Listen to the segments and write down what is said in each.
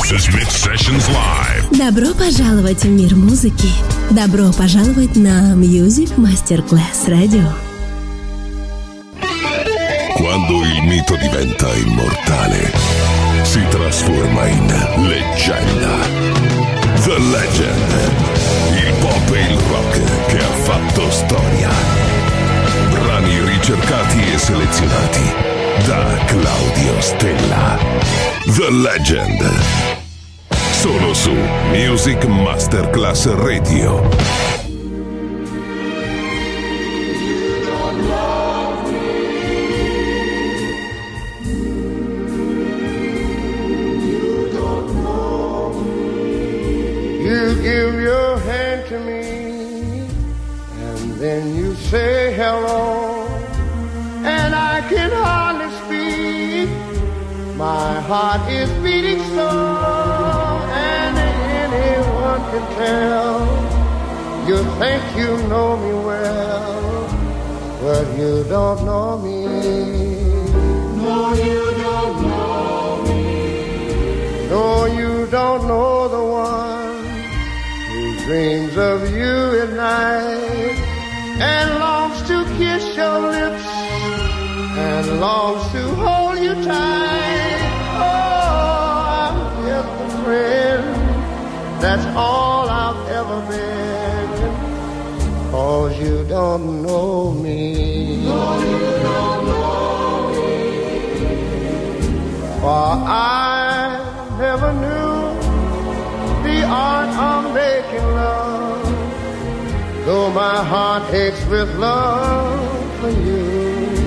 Smith Sessions Live. Добро пожаловать в мир музыки. Добро пожаловать на Music Masterclass Radio. Quando il mito diventa immortale, si trasforma in leggenda. The Legend. Il pop e il rock che ha fatto storia. Brani ricercati e selezionati da Claudio Stella. The Legend. Solo su Music Masterclass Radio. You give your hand to me, and then you say hello, and I can hardly speak. My heart is beating so, and anyone can tell. You think you know me well, but you don't know me. No, you don't know me. No, you don't know the one dreams of you at night and longs to kiss your lips and longs to hold you tight. Oh, I'm just a friend, that's all I've ever been, 'cause you don't know me. No, you don't know me. For I never knew the art of making love, though my heart aches with love for you.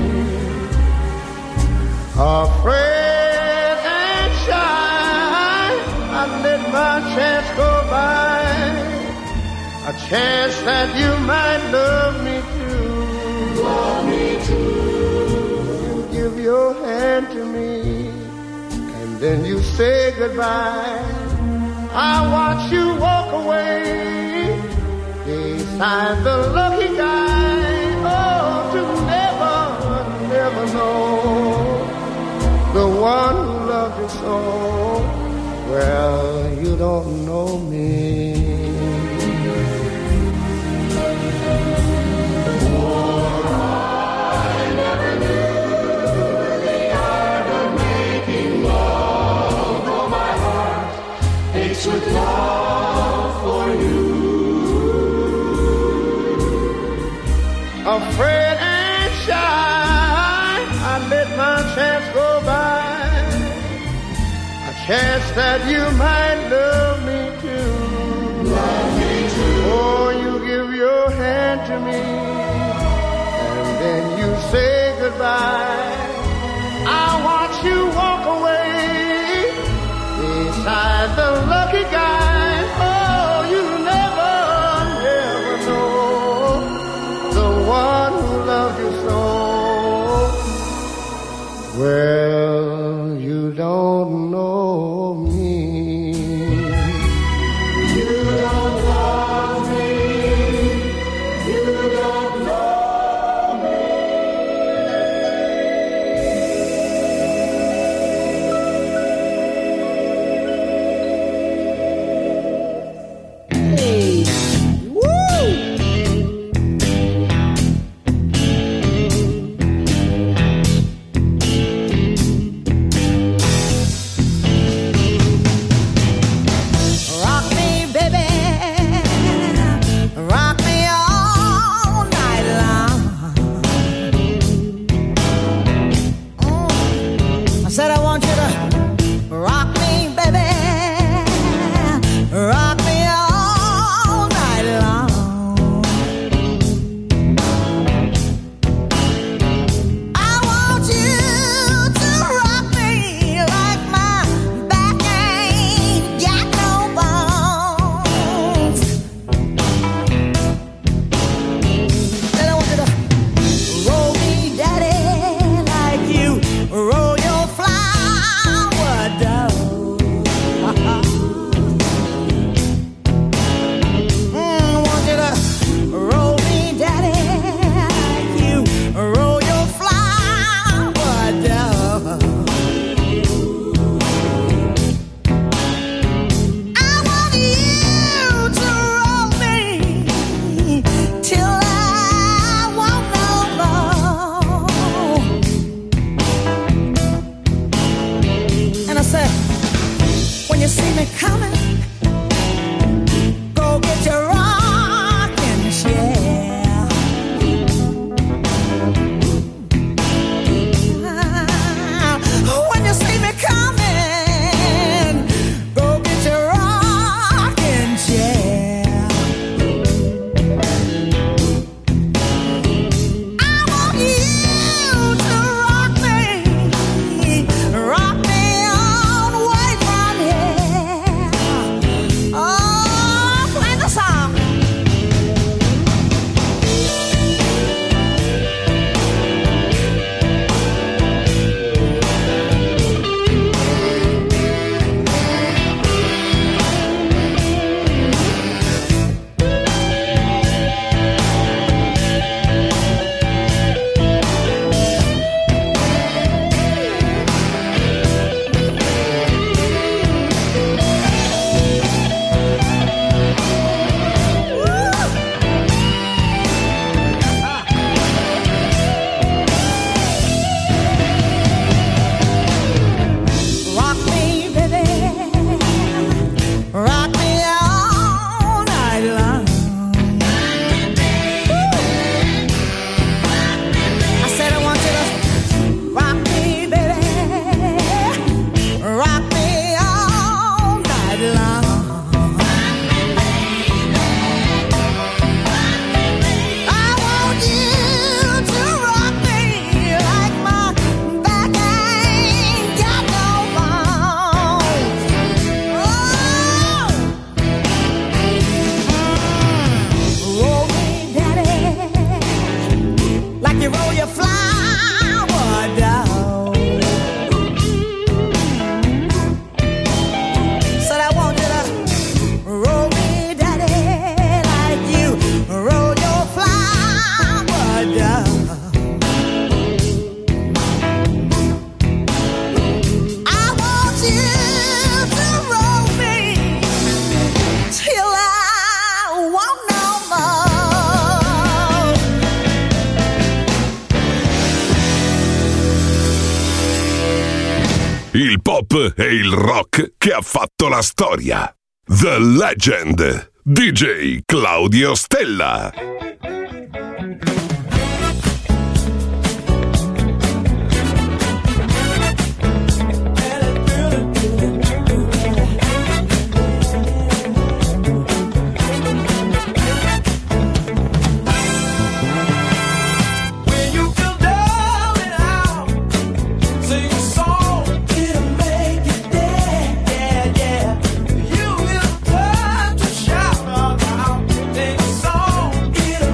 Afraid and shy, I let my chance go by, a chance that you might love me too. Love me too. You give your hand to me, and then you say goodbye. I watch you walk away beside the lucky guy. Oh, to never, never know the one who loved you so. Well, you don't know me. With love for you, afraid and shy, I let my chance go by, a chance that you might love me too. Love me too. Oh, you give your hand to me, and then you say goodbye. I watch you walk away beside the lucky guy. Oh, you never, never know the one who loved you so. Well, you don't know me. You don't love me. You don't know me. me coming, go get your rocking chair. When you see me coming, go get your rocking chair. I want you to rock me on way from here. Oh, play the song. Rock me, baby. Rock me all night long. I said I want you to rock me, baby. Rock me all night long. I want you to rock me like my back ain't got no bones. Oh, roll me, daddy, like you roll your flower down. Said I want you to roll me, daddy, like you roll your flower down. I want you to roll me till I want no more. Il pop e il rock che ha fatto la storia. The Legend. DJ Claudio Stella. When you feel down and out, sing a song, it'll make you dance, yeah, yeah. You will turn to shout out, sing a song, it'll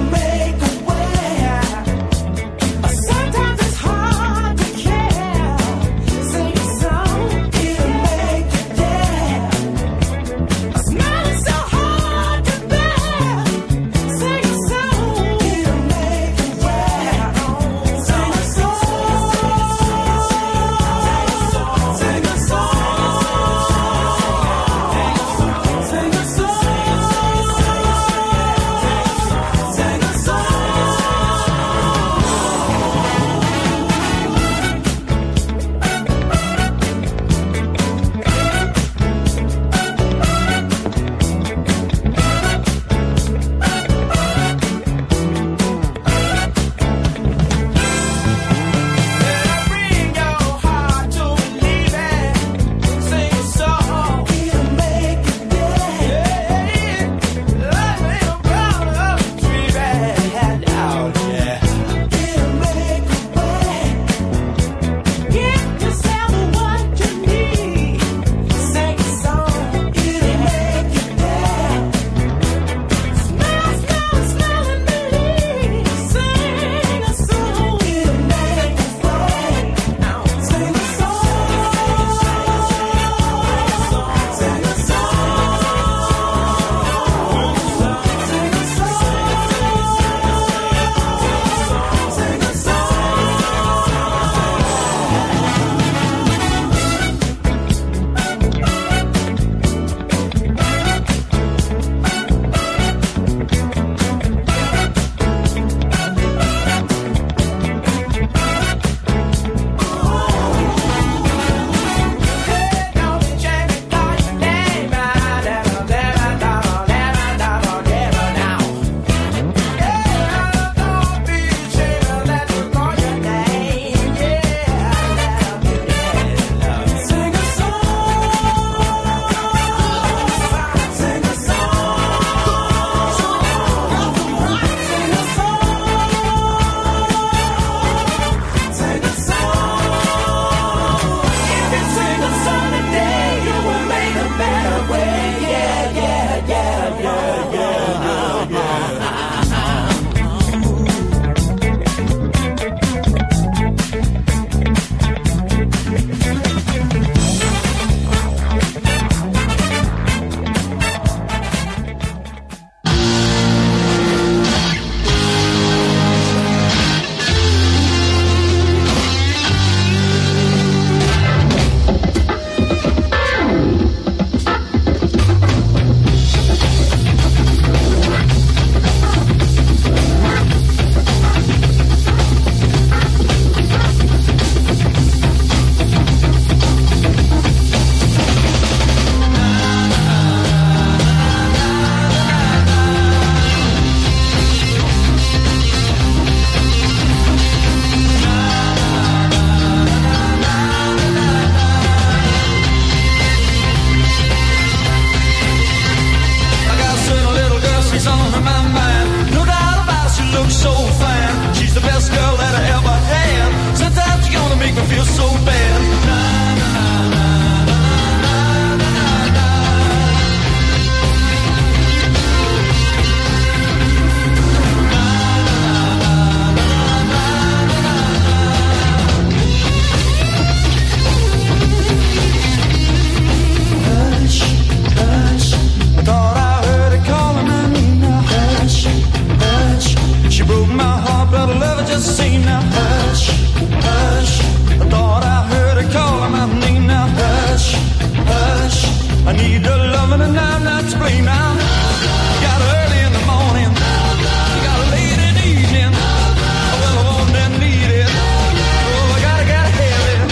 need the loving and I'm not to blame now. You got early in the morning, you got late in the evening. Well, I want and need it. Oh, I gotta have it.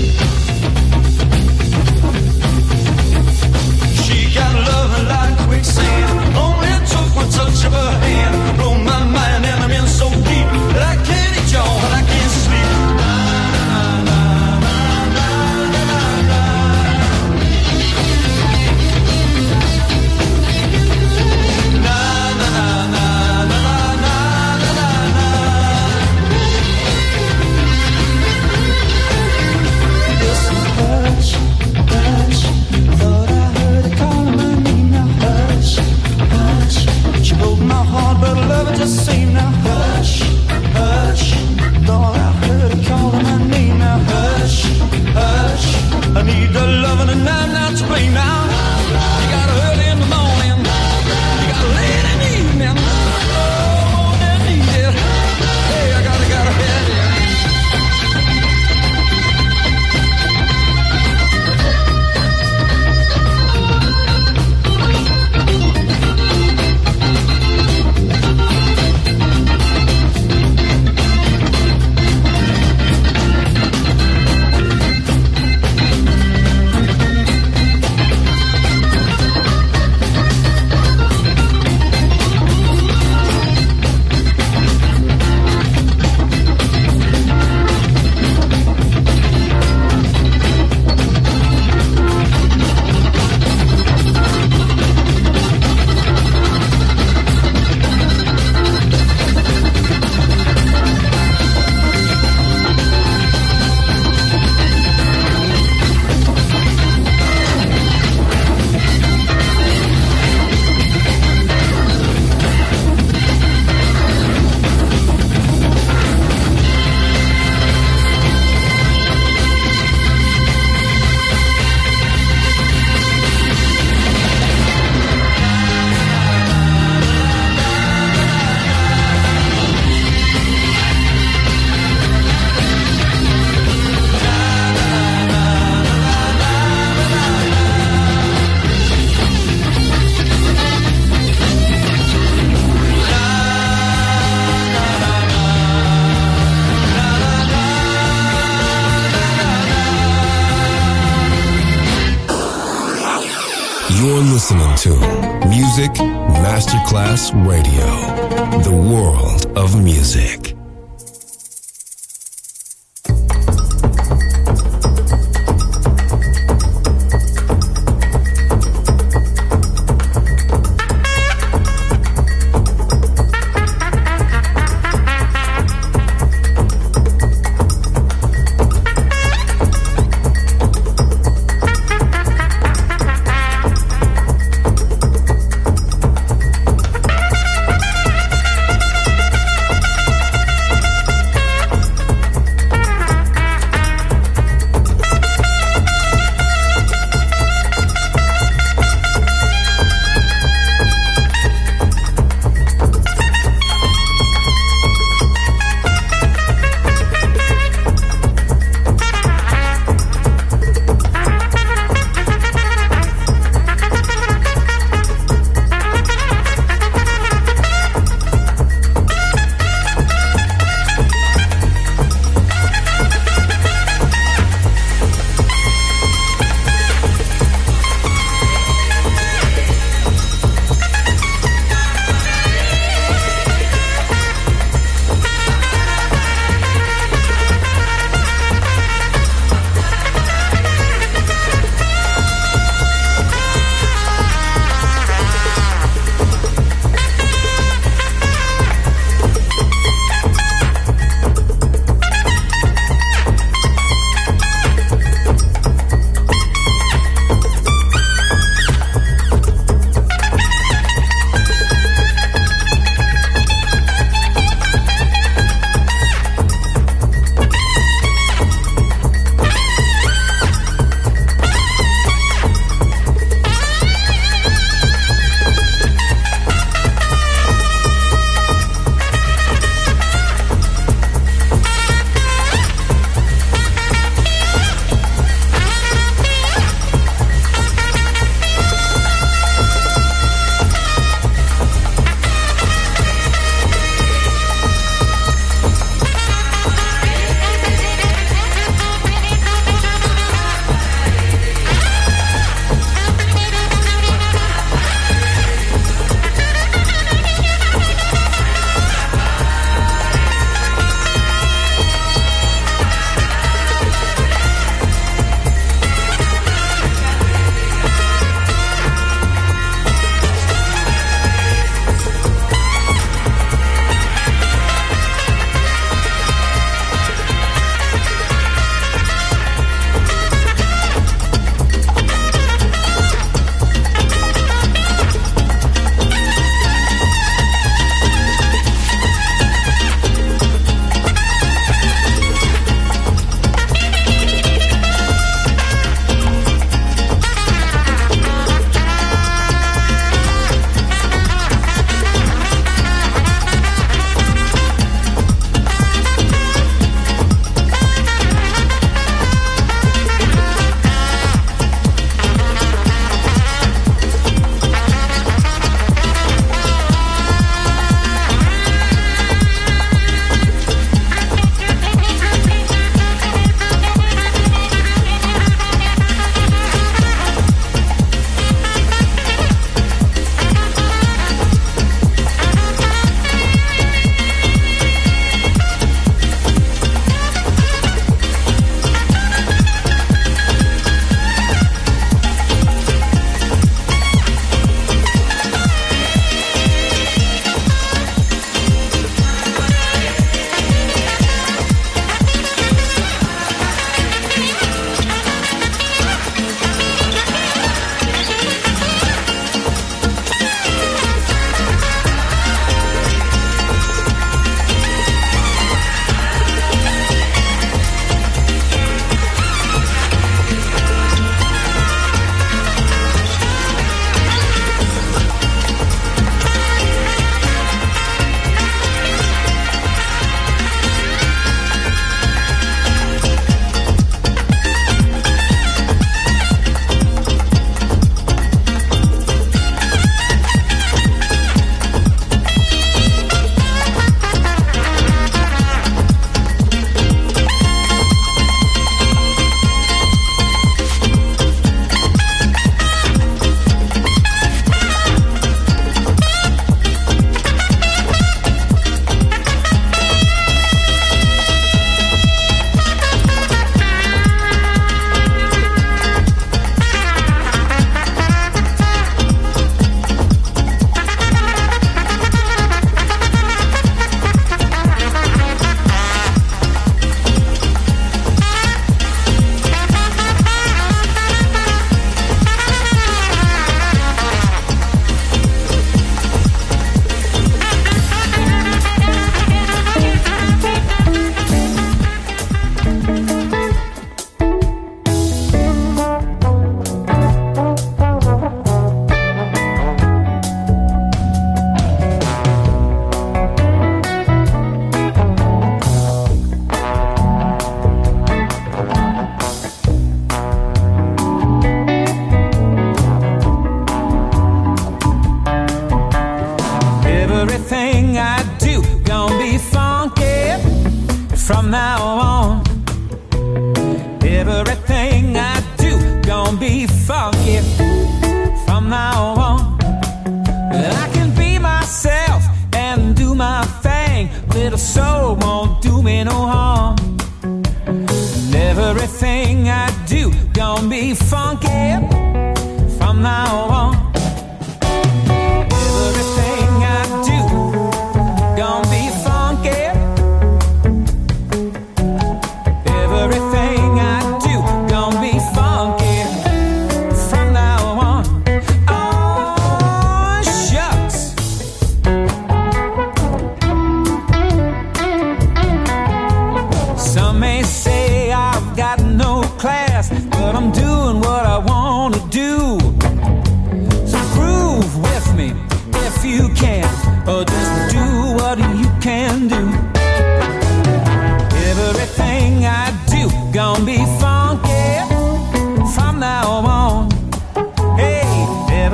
She got loving like quicksand. Only took one touch of her hand. Blow my mind and I'm in so deep that I can't eat y'all and I can't sleep. But love it just seemed now hush, hush. Thought I heard her calling my name now hush, hush. I need the loving and I'm not to blame now. You got early in the morning, you got late in the evening. Oh, I need it. Hey, I gotta have it. You're listening to Music Masterclass Radio, the world of music.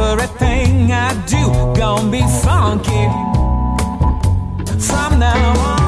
Everything I do gonna be funky from now on.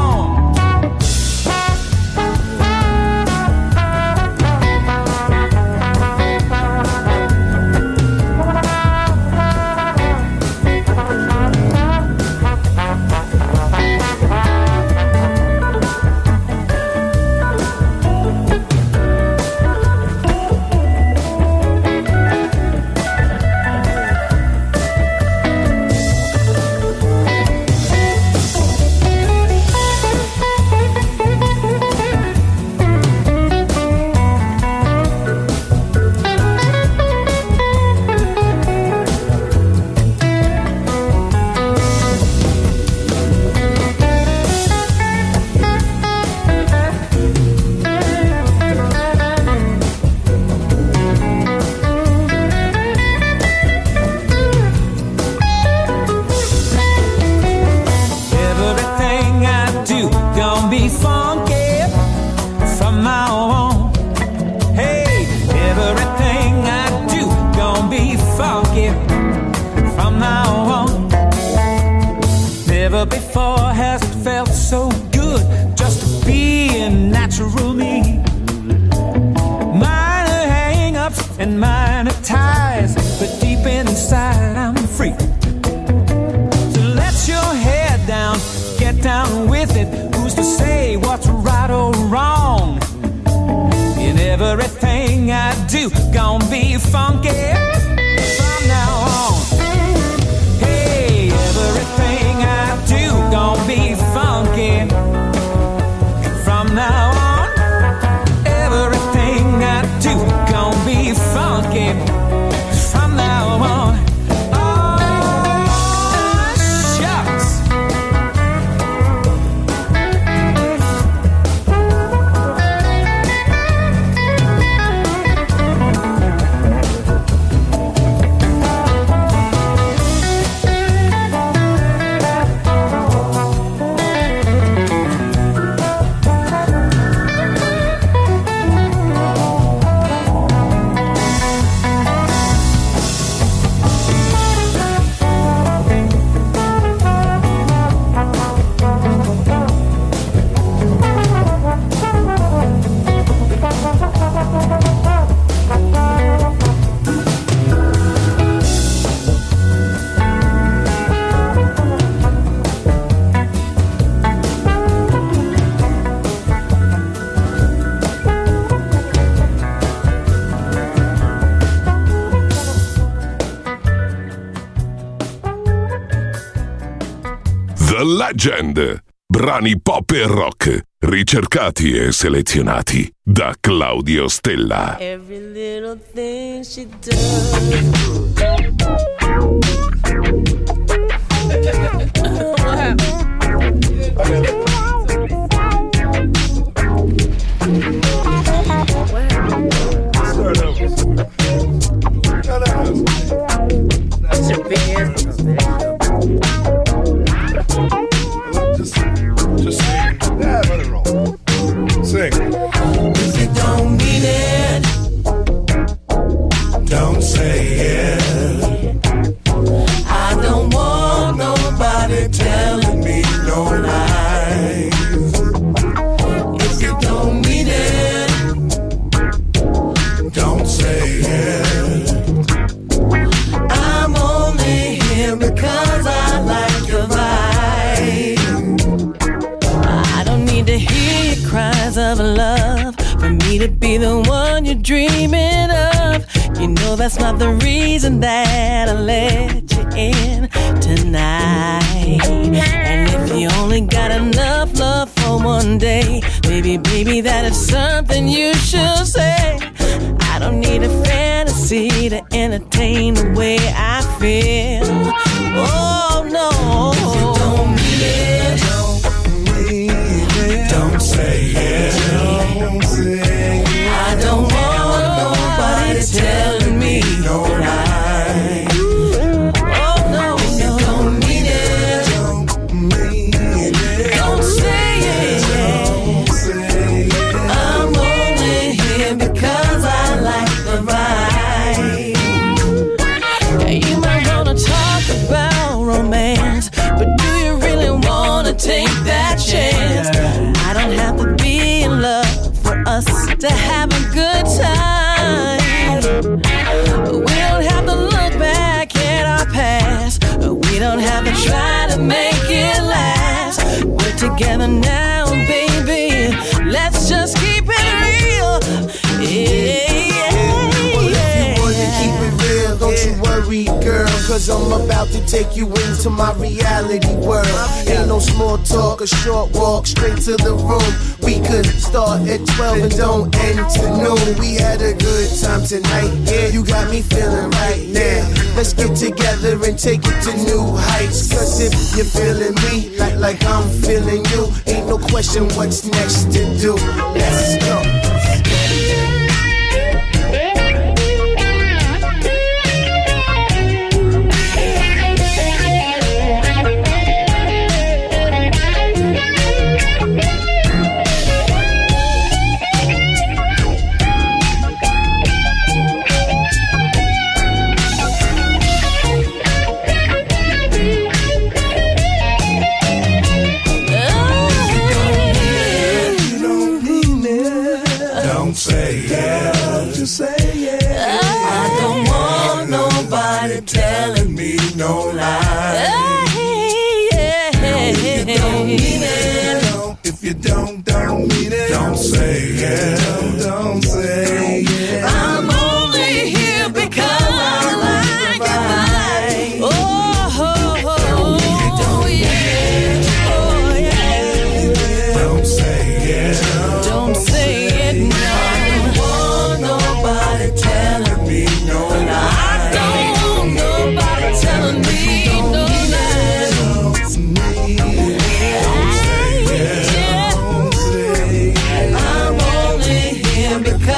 Before has it felt so good just to be a natural me. Minor hang-ups and minor ties, but deep inside I'm free. So let your head down, get down with it. Who's to say what's right or wrong? In everything I do, gonna be funky from now on. Hey, everything I do gonna be funky from now on. Everything I do gonna be funky from now on. Oh, shucks. The Legend. Brani pop e rock, ricercati e selezionati da Claudio Stella. Every little thing she does. What happened? Start over. That's your big ass. Just sing. Yeah, let it roll. Sing. If you don't mean it, don't say it. I don't want nobody telling me no lies. If you don't mean it, don't say it. I'm only here because I like your vibe. I don't need to hear your cries of love for me to be the one you're dreaming of. You know that's not the reason that I let you in tonight. And if you only got enough love for one day, baby, that is something you should say. I don't need a fantasy to entertain the way I feel. Oh no, if you don't mean it, don't say it. I don't want nobody telling me no lie. cause I'm about to take you into my reality world. Ain't no small talk, a short walk straight to the room. We could start at 12 and don't end to noon. We had a good time tonight, yeah, you got me feeling right now. Let's get together and take it to new heights. Cause if you're feeling me like I'm feeling you, ain't no question what's next to do. Let's go. Telling me no lie. If you don't mean it. Don't say it. Don't say it. I'm only here because I like it. Oh, yeah. Oh, yeah. Don't say it. Don't say it now. I don't want nobody telling me no lie. Telling me no lies. I'm only here because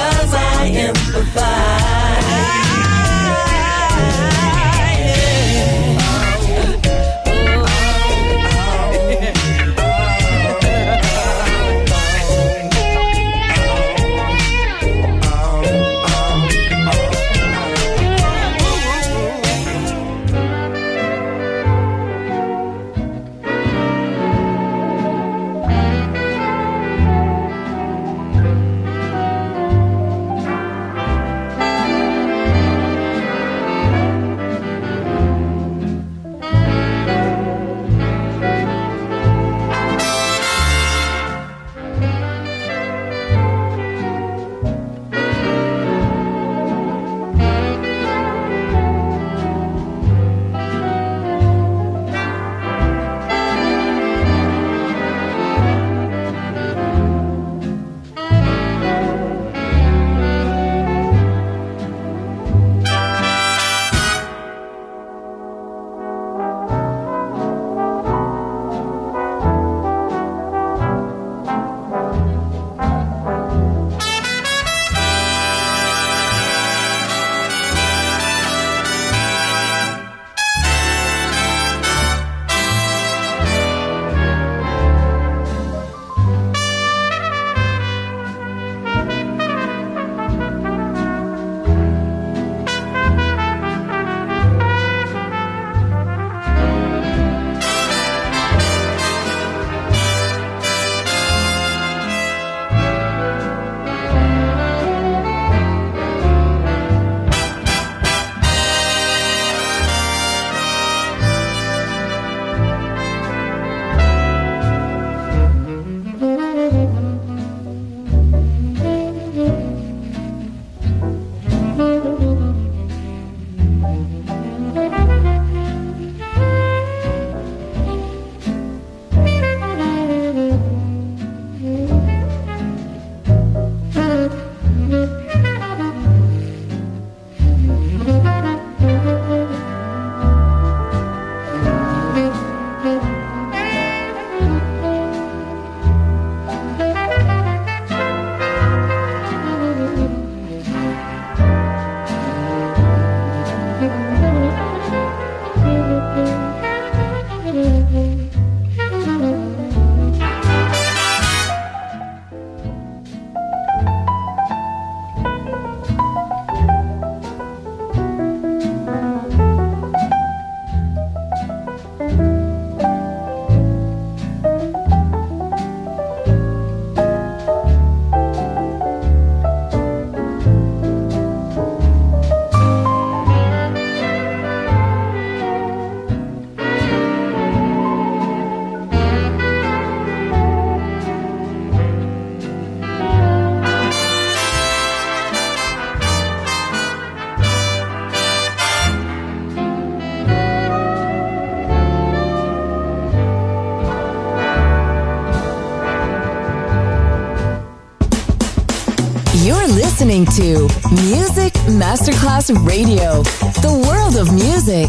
listening to Music Masterclass Radio, the world of music.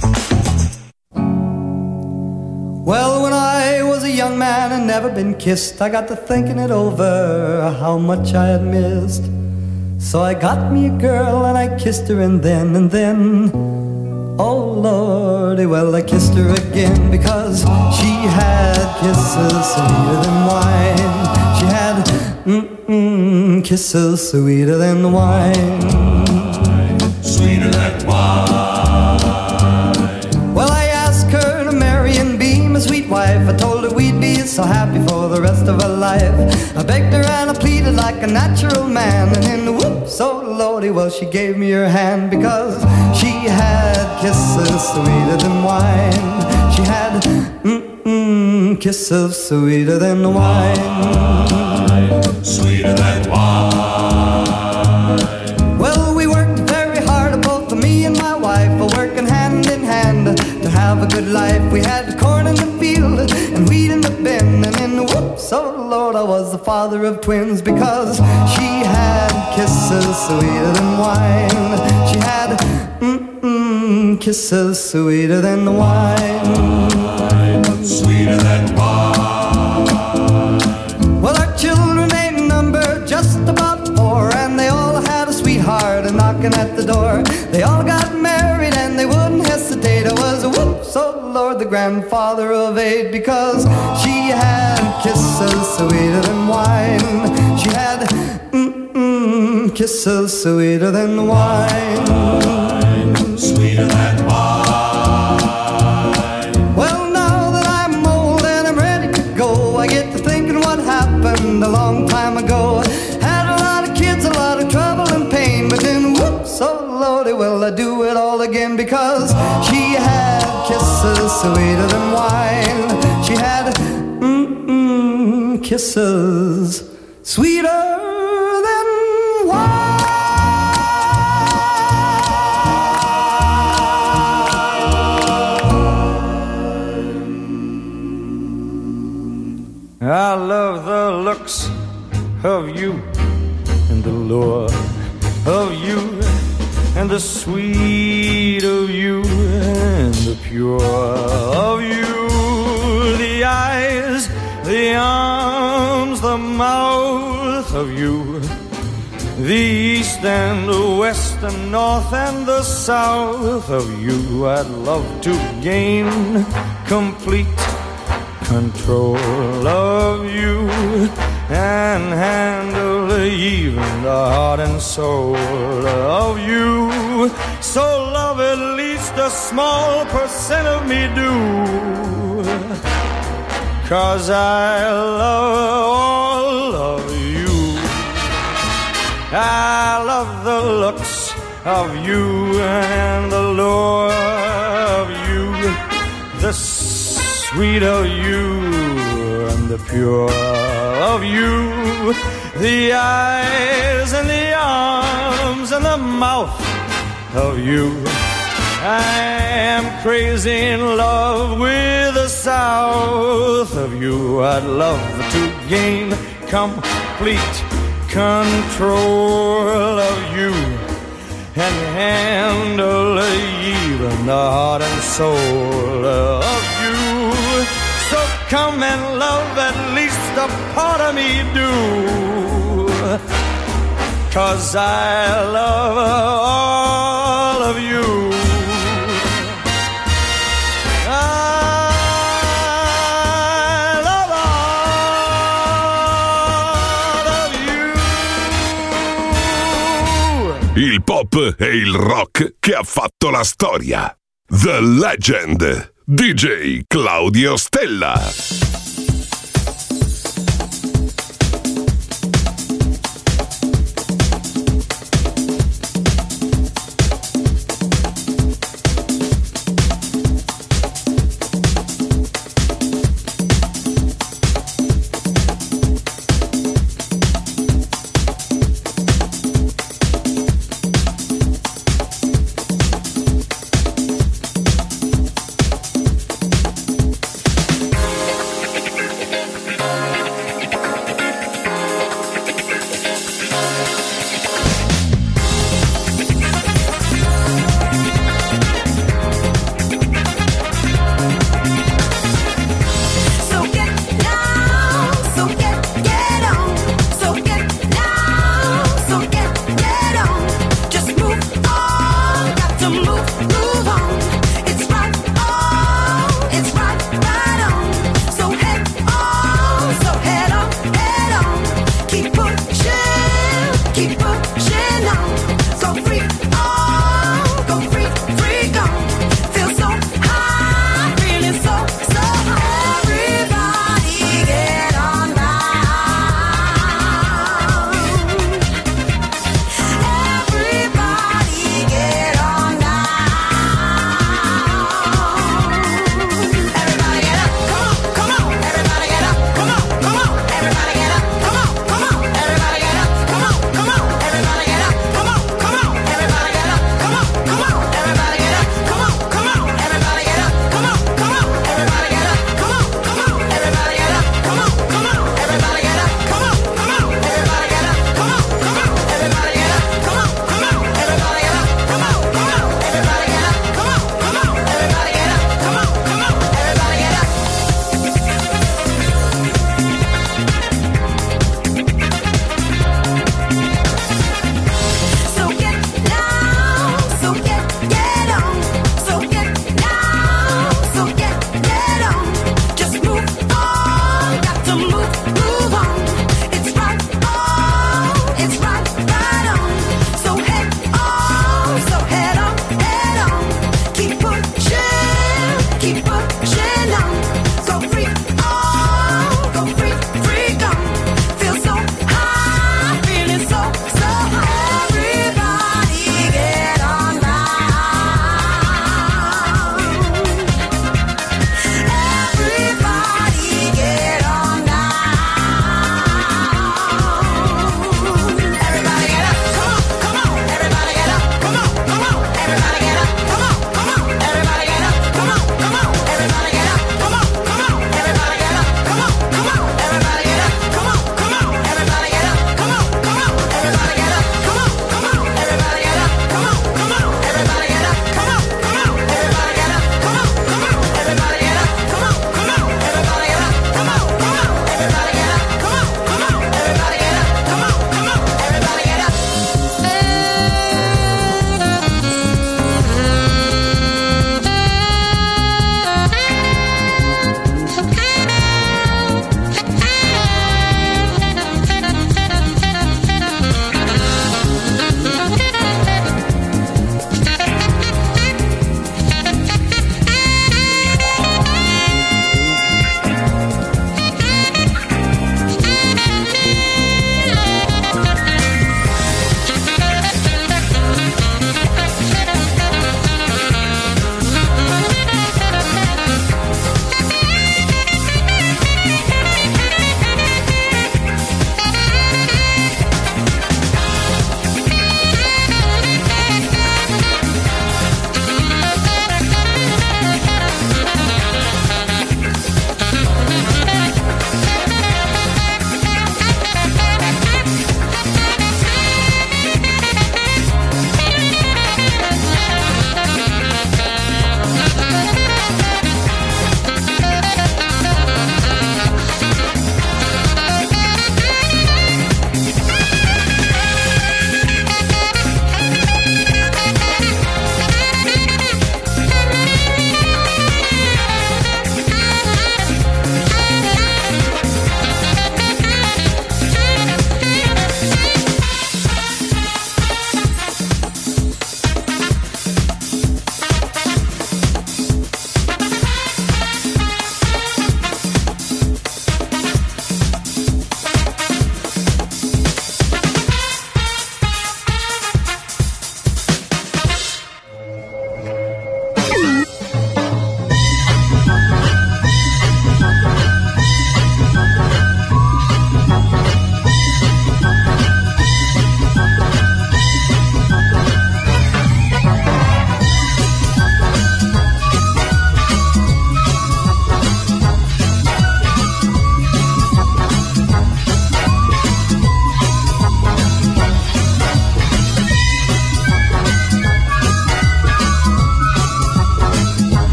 Well, when I was a young man and never been kissed, I got to thinking it over, how much I had missed. So I got me a girl and I kissed her and then, oh Lordy, well I kissed her again because she had kisses sweeter than wine. She had kisses sweeter than wine. Sweeter than wine. Well, I asked her to marry and be my sweet wife. I told her we'd be so happy for the rest of her life. I begged her and I pleaded like a natural man. And then whoops, oh Lordy, well she gave me her hand because she had kisses sweeter than wine. She had kisses sweeter than wine. Sweeter than wine. Well, we worked very hard, both me and my wife, working hand in hand to have a good life. We had corn in the field and wheat in the bin, and then whoops, oh Lord, I was the father of twins because she had kisses sweeter than wine. She had kisses sweeter than wine. Sweeter than wine. Well, our children ain't numbered, just about 4, and they all had a sweetheart knocking at the door. They all got married and they wouldn't hesitate. I was a whoops, oh Lord, the grandfather of 8 because she had kisses sweeter than wine. She had kisses sweeter than wine. Sweeter than wine. Well, now that I'm old and I'm ready to go, I get to thinking what happened a long time ago. Had a lot of kids, a lot of trouble and pain, but then whoops, oh Lordy, well I do it all again because she had kisses sweeter than wine. She had kisses sweeter than wine. I love the looks of you and the lure of you and the sweet of you and the pure of you. The eyes, the arms, the mouth of you. The east and the west and north and the south of you. I'd love to gain complete control of you and handle even the heart and soul of you. So love at least a small percent of me do, 'cause I love all of you. I love the looks of you and the lure of you, the sweet of you and the pure of you, the eyes and the arms and the mouth of you. I am crazy in love with the south of you. I'd love to gain complete control of you and handle even the heart and soul of you. So come and love at least a part of me do, 'cause I love all of you. I love all of you. Il pop e il rock che ha fatto la storia. The Legend. DJ Claudio Stella.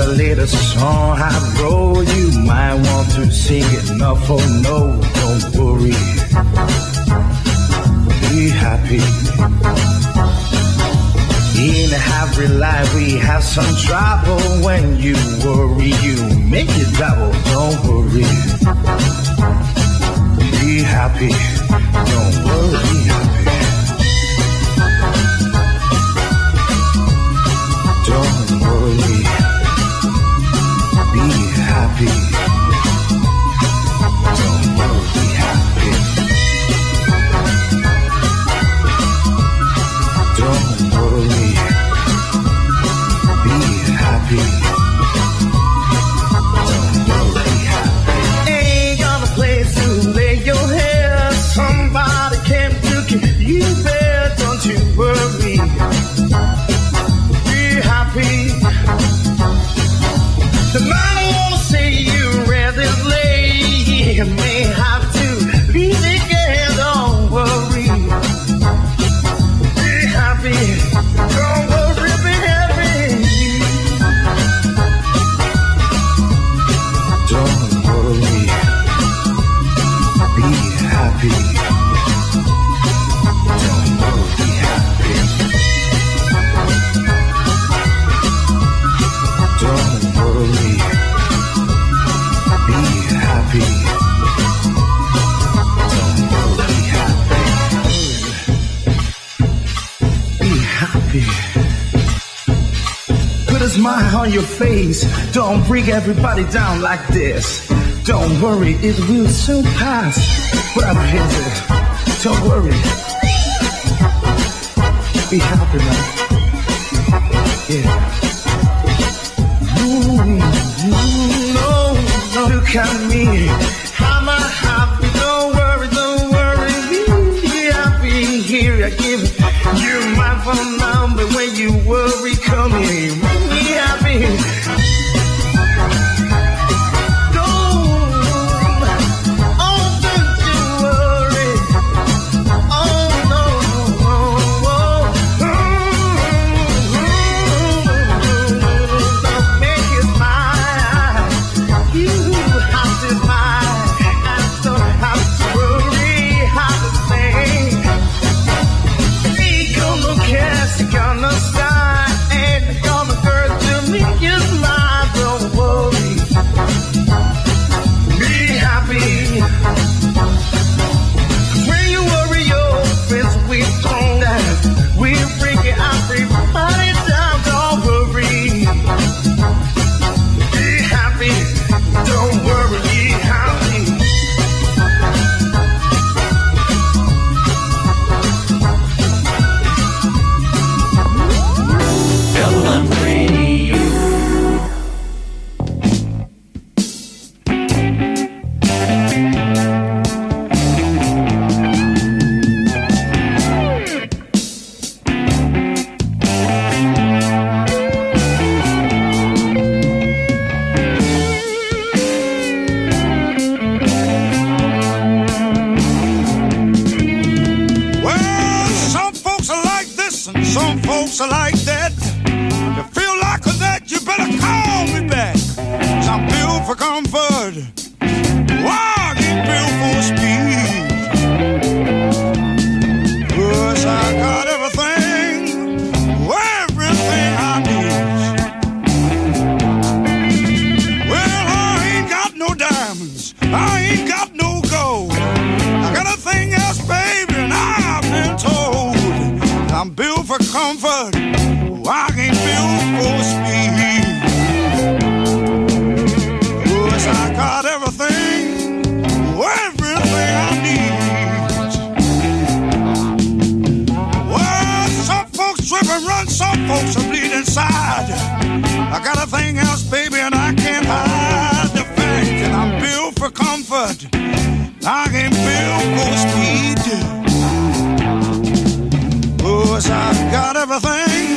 a little song I wrote. You might want to sing it, no for no, don't worry. Be happy. In every life we have some trouble. When you worry, you make it double. Don't worry. Be happy. Don't worry, be happy. Don't worry. Be happy. Don't worry, be happy. Don't worry. Be happy. Don't worry, be happy. Ain't got a place to lay your head. Somebody came to keep you there. Don't you worry. Be happy. The man won't say you rather late. You may have to leave again. Don't worry. Be happy. Don't worry, be happy. Don't worry. Be happy. Don't worry, be happy. Don't worry. Be happy. Don't worry, be happy. Be happy. Put a smile on your face. Don't bring everybody down like this. Don't worry, it will soon pass. Whatever is it, don't worry. Be happy, man. Yeah. No, look at me. I'm happy. Don't worry, don't worry. Be happy. Here I give you my phone number. When you worry, come here. Be happy. Gonna start and gonna girl to me is mine. Don't worry, be happy. When you worry, your friends we stronger. We bring it everybody down. Don't worry, be happy. Don't worry, be happy. Some folks are like that. You feel like a that, you better call me back. 'Cause I'm built for comfort. Why I get built for speed? 'Cause I got everything I need. Well, I ain't got no diamonds, I ain't got no gold. I got a thing else, baby, and I've been told I'm built for comfort. I ain't built for speed. 'Cause I got everything I need. Well, some folks trip and run, some folks are bleed inside. I got a thing else, baby, and I can't hide the fact that I'm built for comfort. I ain't built for speed. 'Cause I've got everything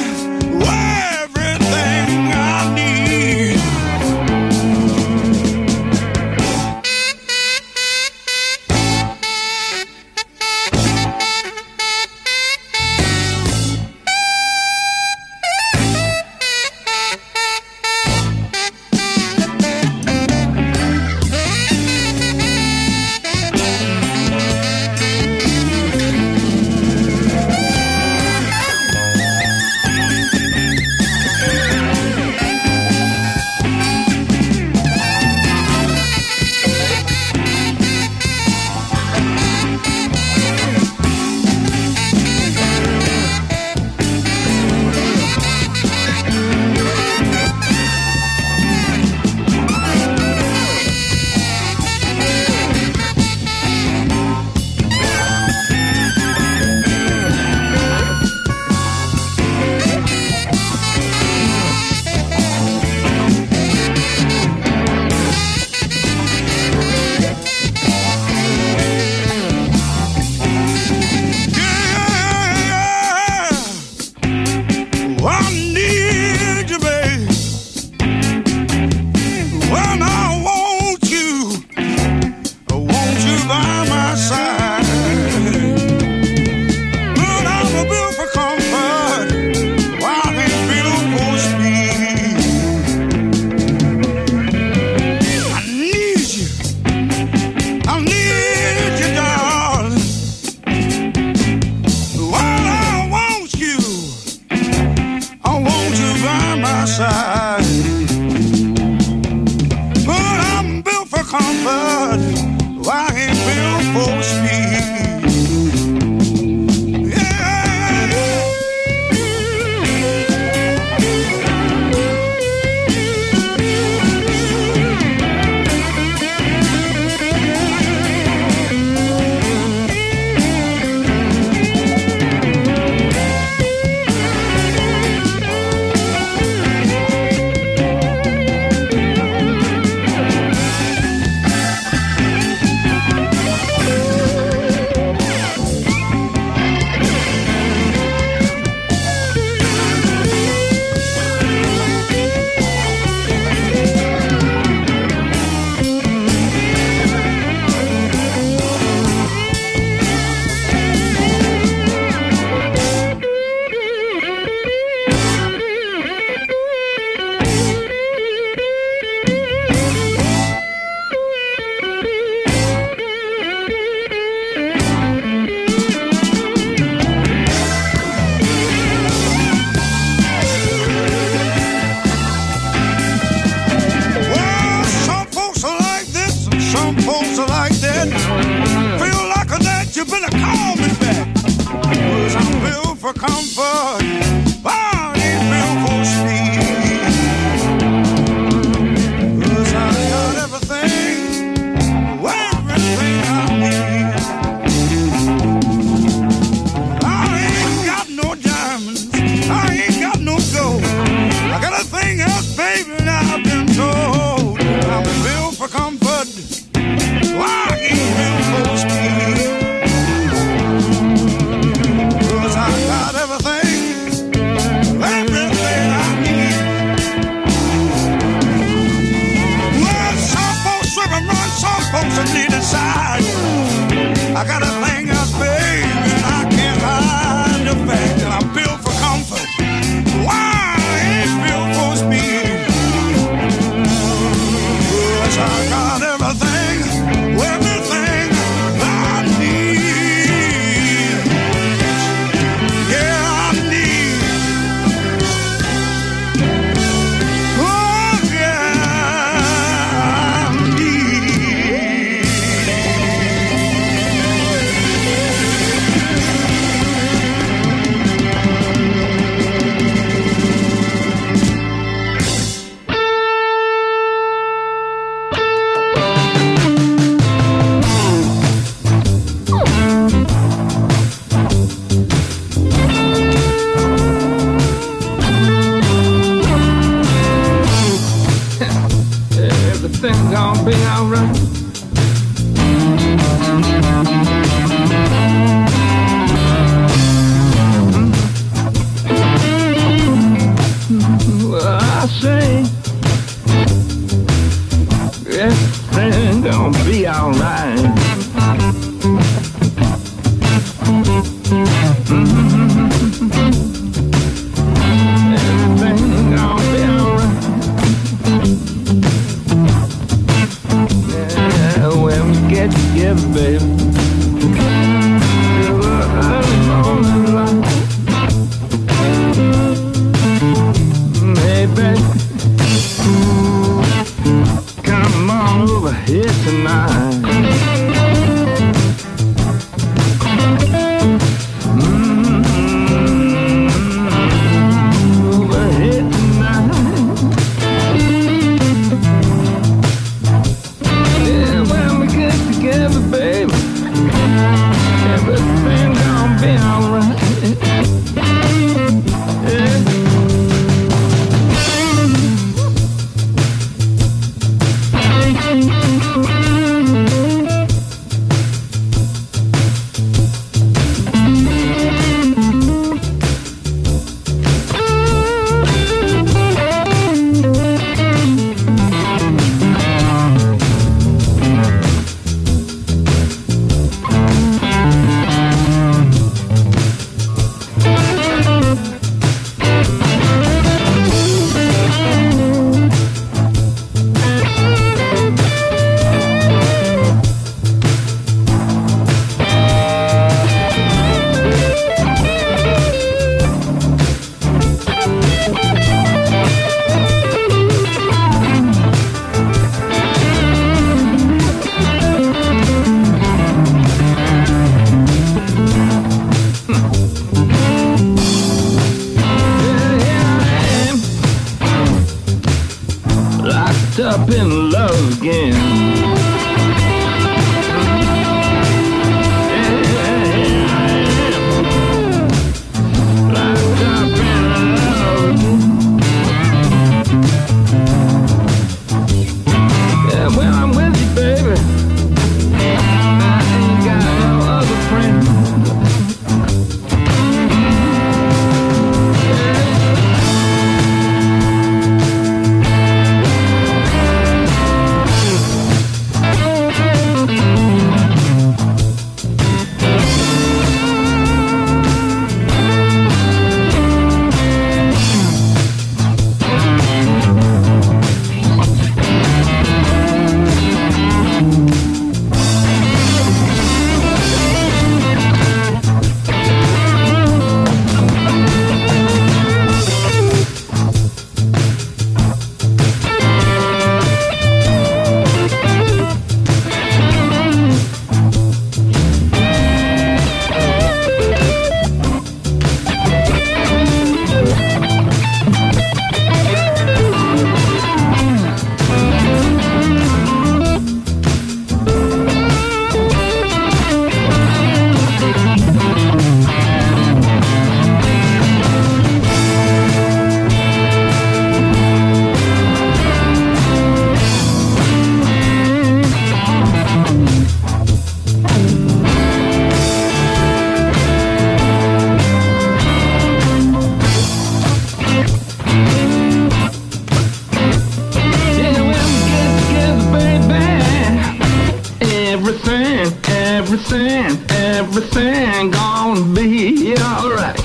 everything gonna be alright.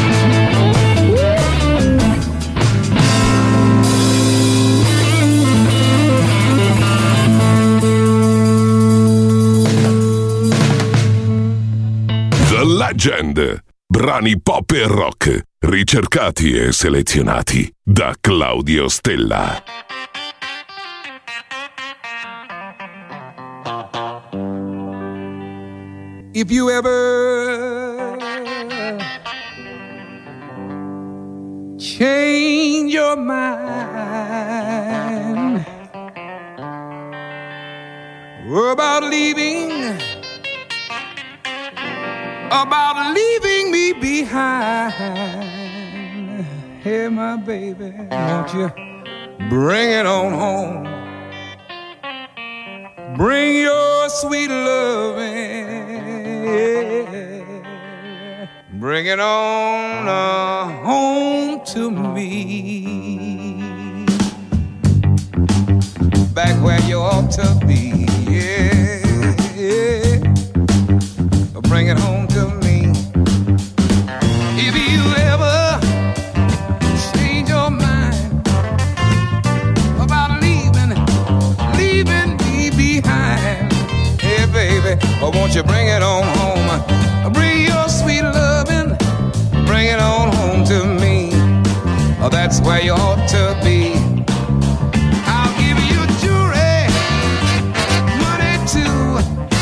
The Legend. Brani pop e rock, ricercati e selezionati da Claudio Stella. If you ever change your mind about leaving me behind, hey my baby, won't you bring it on home? Bring your sweet loving, bring it on home to me, back where you ought to be, yeah. Bring it home to me. If you ever change your mind about leaving me behind, hey baby, won't you bring it on home? Bring your sweet loving, bring it on home to me. That's where you ought to be. I'll give you jewelry, money too.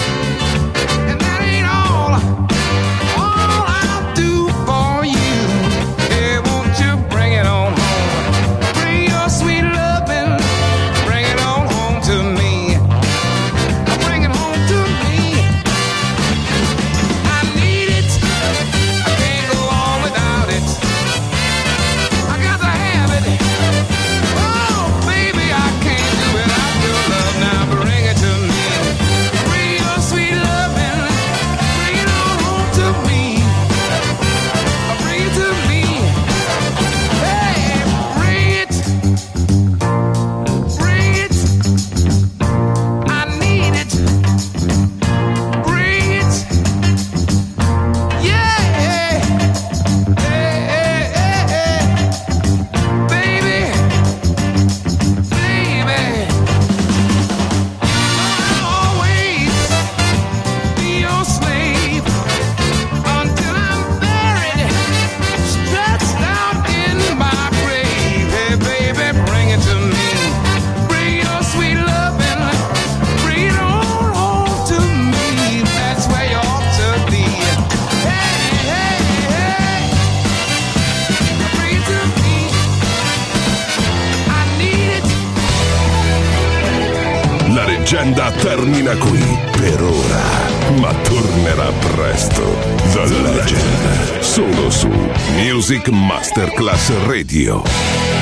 La leggenda termina qui per ora, ma tornerà presto. The Legend, solo su Music Masterclass Radio.